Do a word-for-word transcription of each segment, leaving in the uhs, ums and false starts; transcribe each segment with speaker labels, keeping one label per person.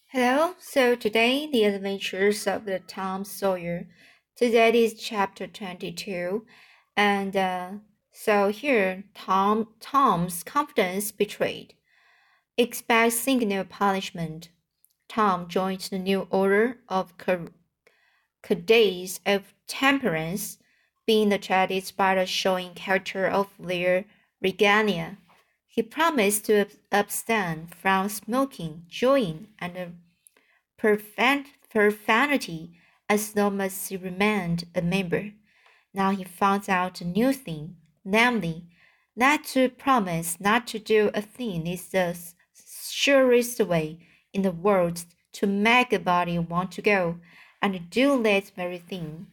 Speaker 1: Hello, so today the adventures of the Tom Sawyer. Today is chapter twenty-two, and uh, so here Tom Tom's confidence betrayed. Expect signal punishment. Tom joined the new order of Cadets of Temperance, being attracted by the showing character of their regalia. He promised to abstain from smoking, drinking, and profan- profanity as long as he remained a member. Now he found out a new thing, namely, that to promise not to do a thing is the surest way in the world to make a body want to go and do that very thing.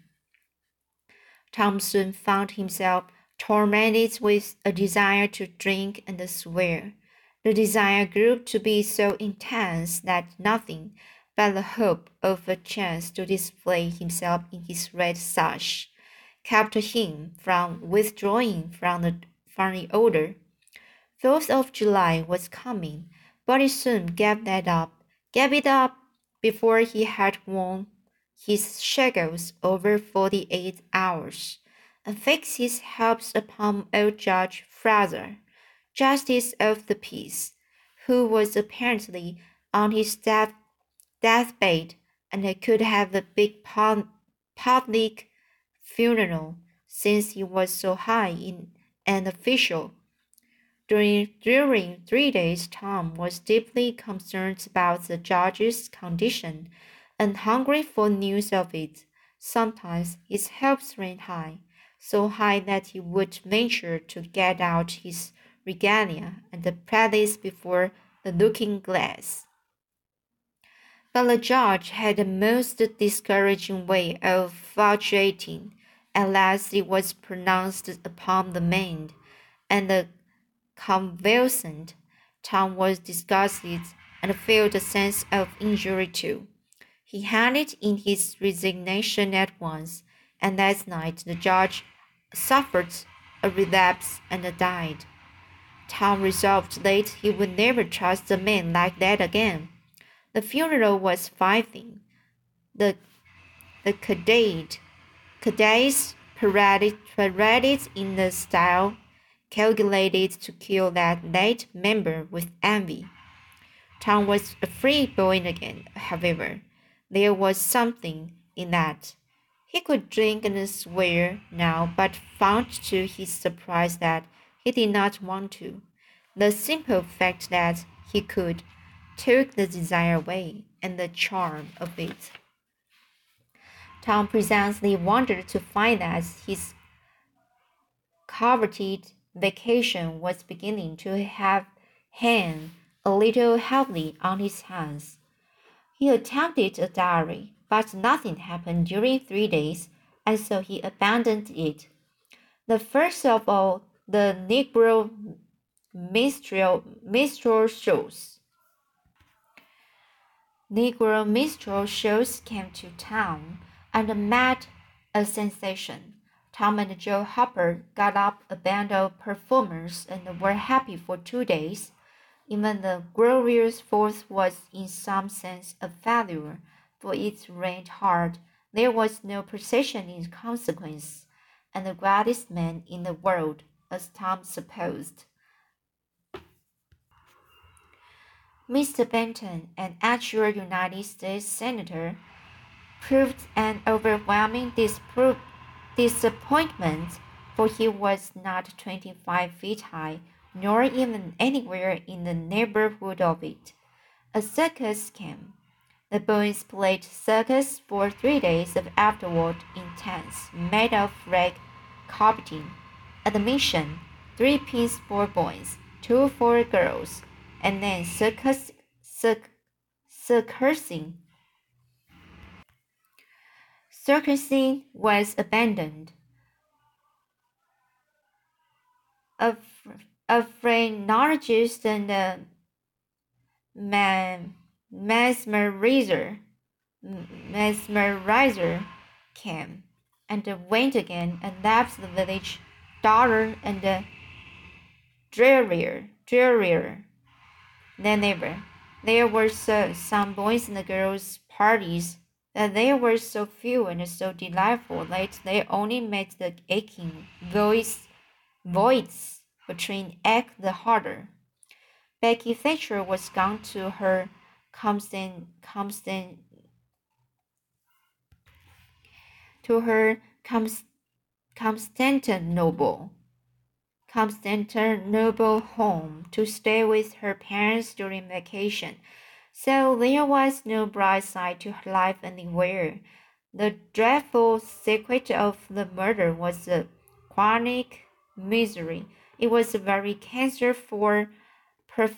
Speaker 1: Tom soon found himself tormented with a desire to drink and swear. The desire grew to be so intense that nothing but the hope of a chance to display himself in his red sash kept him from withdrawing from the, from the order. Fourth of July was coming, but he soon gave that up, gave it up before he had worn his shackles over forty-eight hours, and fixed his hopes upon old Judge Fraser, justice of the peace, who was apparently on his death deathbed and could have a big public funeral since he was so high in an official. During, during three days, Tom was deeply concerned about the judge's condition and hungry for news of it. Sometimes his hopes ran high, so high that he would venture to get out his regalia and practice before the looking glass. But the judge had a most discouraging way of fluctuating. At last it was pronounced upon the man, and the convalescent. Tom was disgusted and felt a sense of injury too. He handed in his resignation at once, and that night the judge suffered a relapse and died. Tom resolved that he would never trust a man like that again. The funeral was fine. The the cadet cadets paraded, paraded in a style calculated to kill that late member with envy. Tom was a free boy again, however. There was something in that. He could drink and swear now, but found to his surprise that he did not want to. The simple fact that he could took the desire away and the charm of it. Tom presently wondered to find that his coveted vacation was beginning to have hang a little heavily on his hands. He attempted a diary, but nothing happened during three days, and so he abandoned it. The first of all, the Negro minstrel, minstrel shows. Negro minstrel shows came to town and made a sensation. Tom and Joe Hopper got up a band of performers and were happy for two days. Even the glorious Fourth was in some sense a failure, for it rained hard. There was no procession in consequence, and the greatest man in the world, as Tom supposed, Mister Benton, an actual United States Senator, proved an overwhelming dispro- disappointment, for he was not twenty-five feet high, nor even anywhere in the neighborhood of it. A circus came. The boys played circus for three days afterward in tents made of rag carpeting. Admission, three pins for boys, two for girls, and then circus, circ, circusing. Circusing was abandoned. A, a phrenologist and a man, mesmerizer, mesmerizer came and went again and left the village duller and drearier, drearier than ever. There were so, some boys and girls parties that they were so few and so delightful that they only made the aching voice voids between ache the harder. Becky Thatcher was gone to her constant, constant, to her Const- Constantinople, Constantinople home to stay with her parents during vacation. So there was no bright side to her life anywhere. The dreadful secret of the murder was the chronic misery. It was a very cancer for per-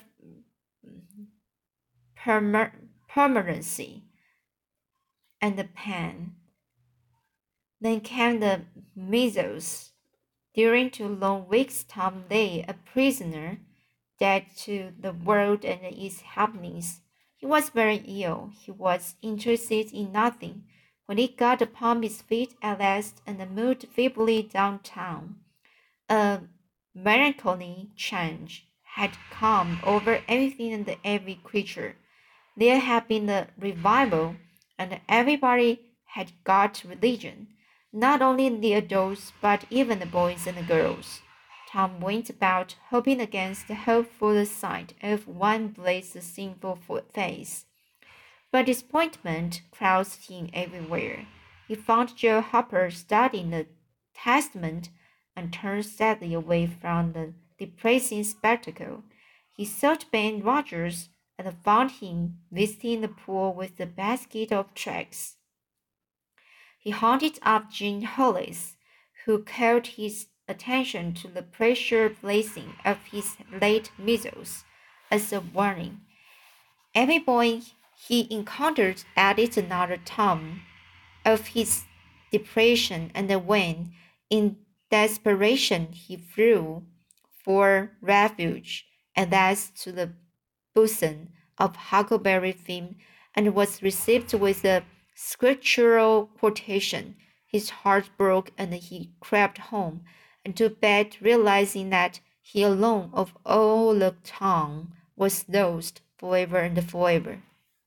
Speaker 1: permer- permanency and the pain. Then came the measles. During two long weeks, Tom lay a prisoner, dead to the world and its happenings. He was very ill. He was interested in nothing. When he got upon his feet at last and moved feebly downtown, a melancholy change had come over everything and every creature. There had been a revival, and everybody had got religion. Not only the adults, but even the boys and the girls. Tom went about hoping against hope for the sight of one blazed sinful face. But disappointment crossed him everywhere. He found Joe Harper studying the Testament and turned sadly away from the depressing spectacle. He sought Ben Rogers and found him visiting the pool with a basket of tracts. He hunted up Jean Hollis, who called his attention to the pressure placing of his late measles as a warning. Every boy he encountered added another tom of his depression, and when, in desperation, he flew for refuge, and thus to the bosom of Huckleberry Finn, and was received with a scriptural quotation, his heart broke, and he crept home and to bed, realizing that he alone of all the town was lost forever and forever.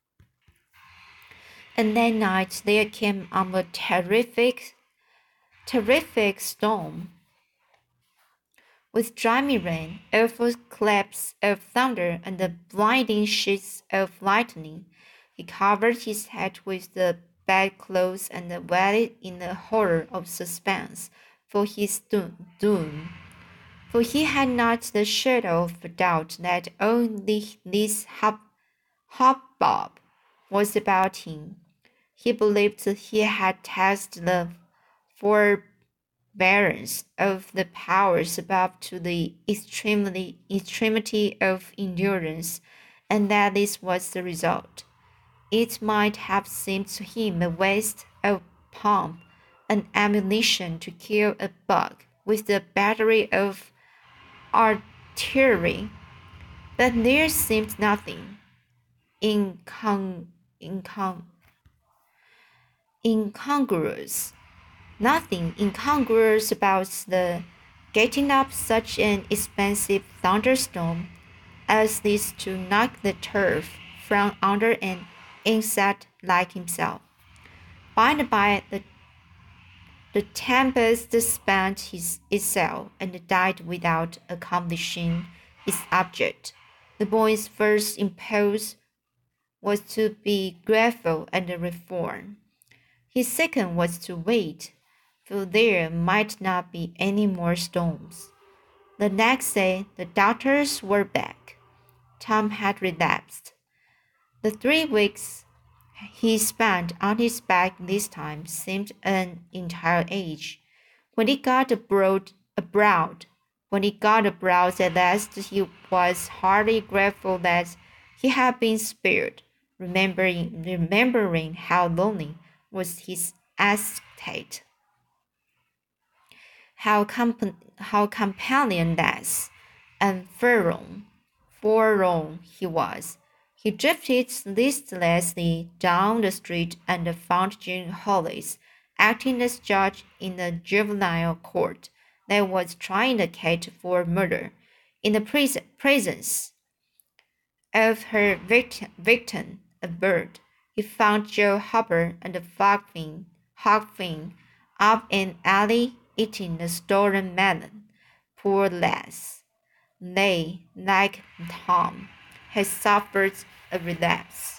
Speaker 1: And that night there came on a terrific, terrific storm, with driving rain, awful claps of thunder, and the blinding sheets of lightning. He covered his head with the bedclothes and waited in the horror of suspense for his doom. For he had not the shadow of a doubt that all this hubbub was about him. He believed he had tasted the forbearance of the powers above to the extremity, extremity of endurance, and that this was the result. It might have seemed to him a waste of pump and ammunition to kill a bug with a battery of artillery, but there seemed nothing incon- incon- incongruous, nothing incongruous about the getting up such an expensive thunderstorm as this to knock the turf from under an insect like himself. By and by, the, the tempest spent his, itself and died without accomplishing its object. The boy's first impulse was to be grateful and reform. His second was to wait, for there might not be any more storms. The next day, the doctors were back. Tom had relapsed. The three weeks he spent on his back this time seemed an entire age. When he got abroad, abroad, when he got abroad at last, he was heartily grateful that he had been spared, remembering, remembering how lonely was his estate, how, comp- how companionless and forlorn, forlorn he was. He drifted listlessly down the street and found Jean Hollis acting as judge in a juvenile court that was trying the cat for murder in the presence of her victim, victim, a bird. He found Joe Hopper and Hogfin, Hogfin up in alley eating a stolen melon. Poor lass. They, like Tom, had suffered a relapse.